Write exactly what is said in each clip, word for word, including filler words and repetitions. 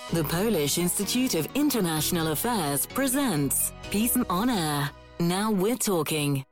The Polish Institute of International Affairs presents Peace on Air. Now we're talking.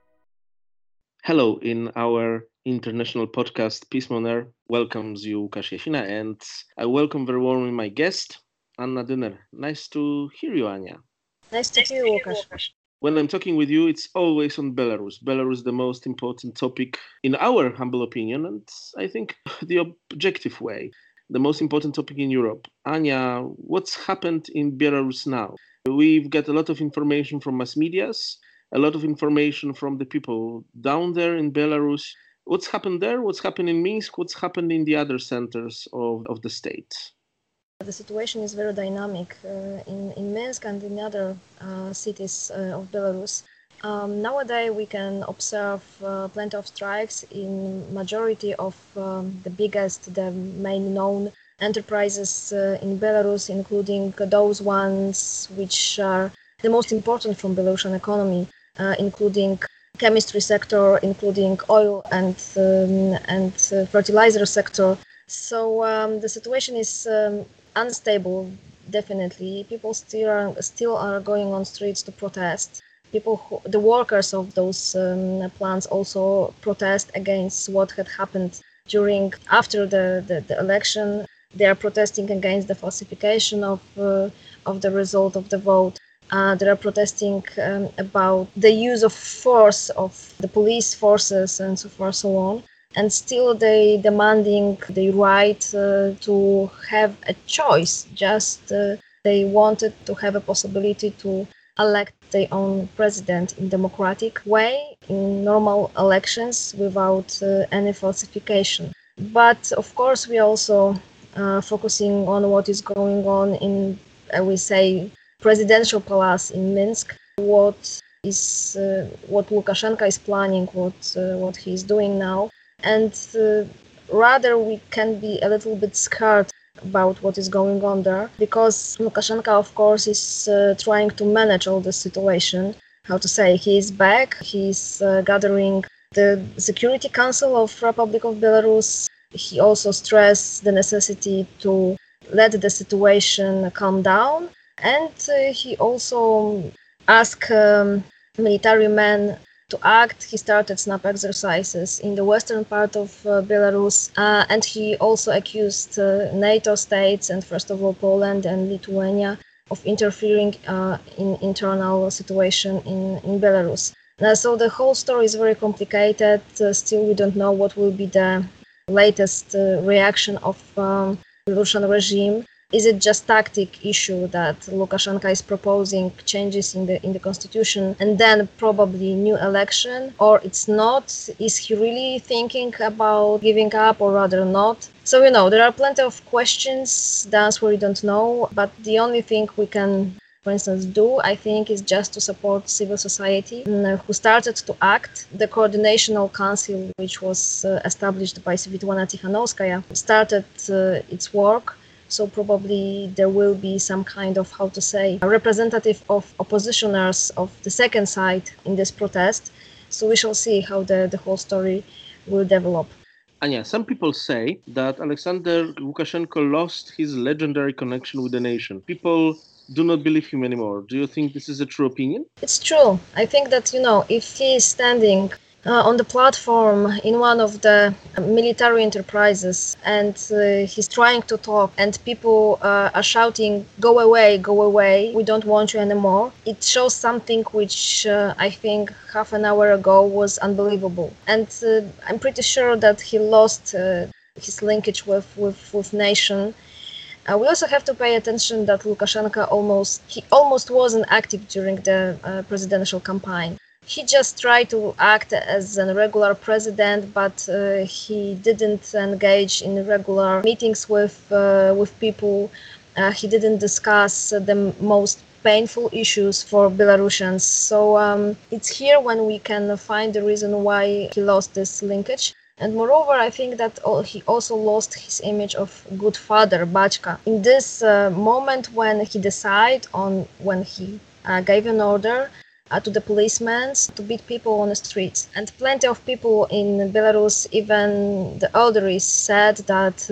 Hello, in our international podcast, Peace on Air welcomes you, Łukasz Jasina, and I welcome very warmly my guest, Anna Dyner. Nice to hear you, Anya. Nice to hear you, Łukasz. When I'm talking with you, it's always on Belarus. Belarus is the most important topic, in our humble opinion, and I think the objective way, the most important topic in Europe. Anya, what's happened in Belarus now? We've got a lot of information from mass medias, a lot of information from the people down there in Belarus. What's happened there? What's happened in Minsk? What's happened in the other centers of, of the state? The situation is very dynamic uh, in, in Minsk and in other uh, cities uh, of Belarus. Um, nowadays we can observe uh, plenty of strikes in majority of um, the biggest, the main known enterprises uh, in Belarus, including those ones which are the most important from Belarusian economy, uh, including chemistry sector, including oil and um, and uh, fertilizer sector. So um, the situation is um, unstable, definitely. People still are, still are going on streets to protest. People, who, the workers of those um, plants also protest against what had happened during, after the, the, the election. They are protesting against the falsification of, uh, of the result of the vote. Uh, they are protesting um, about the use of force of the police forces and so forth, so on. And still they demanding the right uh, to have a choice. Just uh, they wanted to have a possibility to elect their own president in democratic way, in normal elections, without uh, any falsification. But of course we are also uh, focusing on what is going on in, I will say, presidential palace in Minsk. What is uh, what Lukashenko is planning, what uh, what he is doing now. And uh, rather we can be a little bit scared about what is going on there, because Lukashenko, of course, is uh, trying to manage all the situation. How to say, he is back, he is uh, gathering the Security Council of Republic of Belarus. He also stressed the necessity to let the situation calm down, and uh, he also asked um, military men to act. He started snap exercises in the western part of uh, Belarus, uh, and he also accused uh, NATO states, and first of all Poland and Lithuania, of interfering uh, in internal situation in, in Belarus. Uh, so the whole story is very complicated. Uh, still we don't know what will be the latest uh, reaction of um, Belarusian regime. Is it just tactic issue that Lukashenko is proposing changes in the in the constitution and then probably new election, or it's not? Is he really thinking about giving up, or rather not? So, you know, there are plenty of questions. The answer we don't know, but the only thing we can, for instance, do, I think, is just to support civil society, who started to act. The Coordinational Council, which was uh, established by Svitlana Tikhanovskaya, started uh, its work. So probably there will be some kind of, how to say, a representative of oppositioners of the second side in this protest. So we shall see how the, the whole story will develop. Anya, some people say that Alexander Lukashenko lost his legendary connection with the nation. People do not believe him anymore. Do you think this is a true opinion? It's true. I think that, you know, if he is standing Uh, on the platform in one of the military enterprises and uh, he's trying to talk and people uh, are shouting, go away, go away, we don't want you anymore. It shows something which uh, I think half an hour ago was unbelievable. And uh, I'm pretty sure that he lost uh, his linkage with, with, with nation. Uh, we also have to pay attention that Lukashenko almost, he almost wasn't active during the uh, presidential campaign. He just tried to act as a regular president, but uh, he didn't engage in regular meetings with uh, with people. Uh, he didn't discuss uh, the most painful issues for Belarusians. So um, it's here when we can find the reason why he lost this linkage. And moreover, I think that he also lost his image of good father, Bachka. In this uh, moment when he decided on, when he uh, gave an order uh, to the policemen to beat people on the streets. And plenty of people in Belarus, even the elderly, said that uh,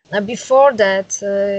Uh, before that,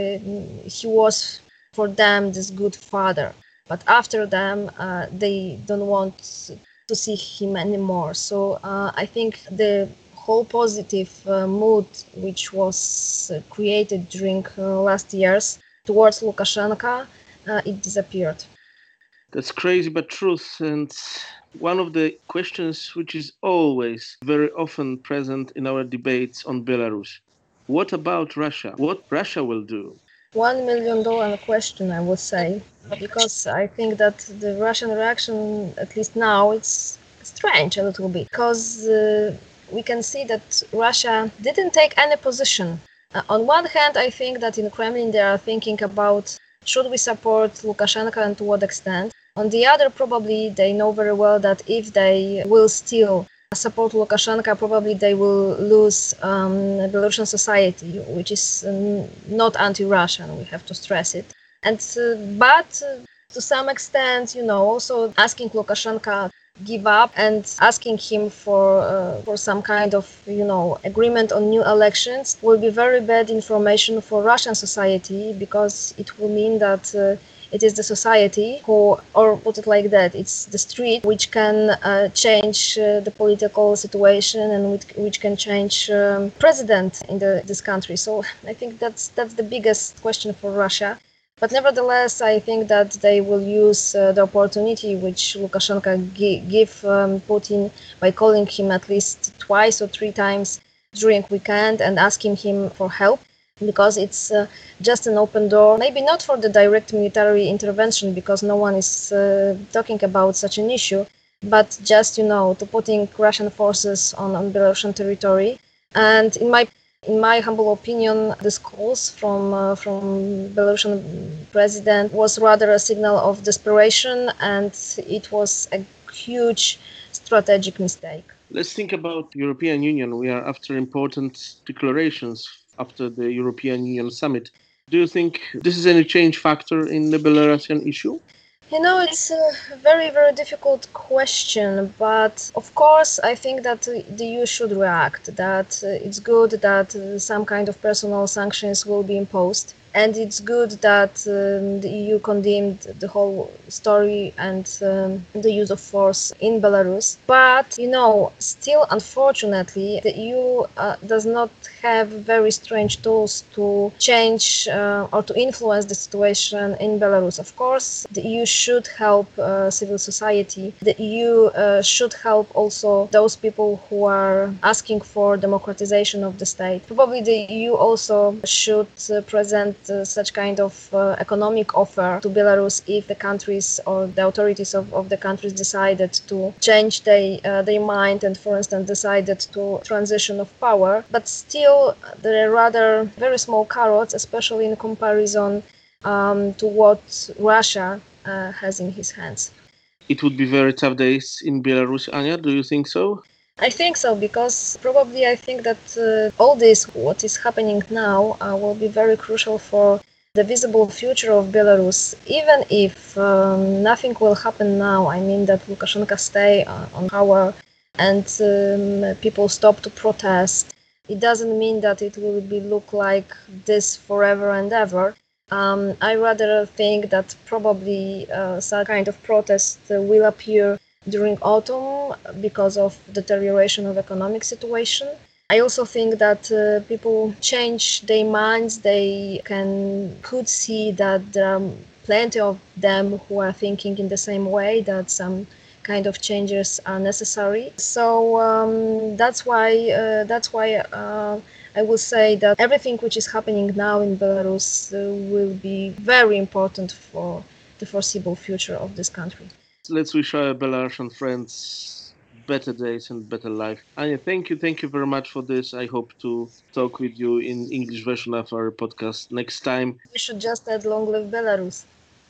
uh, he was for them this good father, but after them, uh, they don't want to see him anymore. So uh, I think the whole positive uh, mood which was uh, created during uh, last years towards Lukashenko, uh, it disappeared. That's crazy but truth. And one of the questions which is always very often present in our debates on Belarus. What about Russia? What Russia will do? One million dollar question, I would say, because I think that the Russian reaction, at least now, it's strange a little bit, because uh, we can see that Russia didn't take any position. Uh, on one hand, I think that in Kremlin they are thinking about should we support Lukashenko and to what extent. On the other, probably they know very well that if they will still support Lukashenko, probably they will lose um, Belarusian society, which is um, not anti-Russian. We have to stress it. And uh, but uh, to some extent, you know, also asking Lukashenko give up and asking him for uh, for some kind of you know agreement on new elections will be very bad information for Russian society, because it will mean that. Uh, It is the society who, or put it like that, it's the street which can uh, change uh, the political situation and which, which can change um, president in the, this country. So I think that's that's the biggest question for Russia. But nevertheless, I think that they will use uh, the opportunity which Lukashenko gi- give um, Putin by calling him at least twice or three times during weekend and asking him for help, because it's uh, just an open door, maybe not for the direct military intervention, because no one is uh, talking about such an issue, but just, you know, to putting Russian forces on, on Belarusian territory. And in my in my humble opinion, this calls from uh, from Belarusian president was rather a signal of desperation, and it was a huge strategic mistake. Let's think about European Union. We are after important declarations after the European Union summit. Do you think this is any change factor in the Belarusian issue? You know, it's a very, very difficult question, but of course, I think that the E U should react, that uh, it's good that uh, some kind of personal sanctions will be imposed. And it's good that um, the E U condemned the whole story and um, the use of force in Belarus. But, you know, still, unfortunately, the E U uh, does not have very strange tools to change uh, or to influence the situation in Belarus. Of course, the E U should help uh, civil society. The E U uh, should help also those people who are asking for democratization of the state. Probably the E U also should uh, present uh, such kind of uh, economic offer to Belarus if the countries or the authorities of, of the countries decided to change they, uh, their mind and, for instance, decided to transition of power. But still, there are rather very small carrots, especially in comparison um, to what Russia uh, has in his hands. It would be very tough days in Belarus, Anya. Do you think so? I think so, because probably I think that uh, all this, what is happening now, uh, will be very crucial for the visible future of Belarus. Even if um, nothing will happen now, I mean that Lukashenko stay uh, on power and um, people stop to protest, it doesn't mean that it will be look like this forever and ever. Um, I rather think that probably uh, some kind of protest uh, will appear during autumn because of deterioration of economic situation. I also think that uh, people change their minds. They can could see that there are plenty of them who are thinking in the same way, that some kind of changes are necessary. So um, that's why uh, that's why uh, I will say that everything which is happening now in Belarus uh, will be very important for the foreseeable future of this country. Let's wish our Belarusian friends better days and better life. Anya, thank you. Thank you very much for this. I hope to talk with you in English version of our podcast next time. We should just add long live Belarus.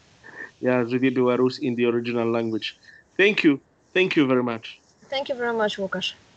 Yeah, Żyje Belarus in the original language. Thank you. Thank you very much. Thank you very much, Łukasz.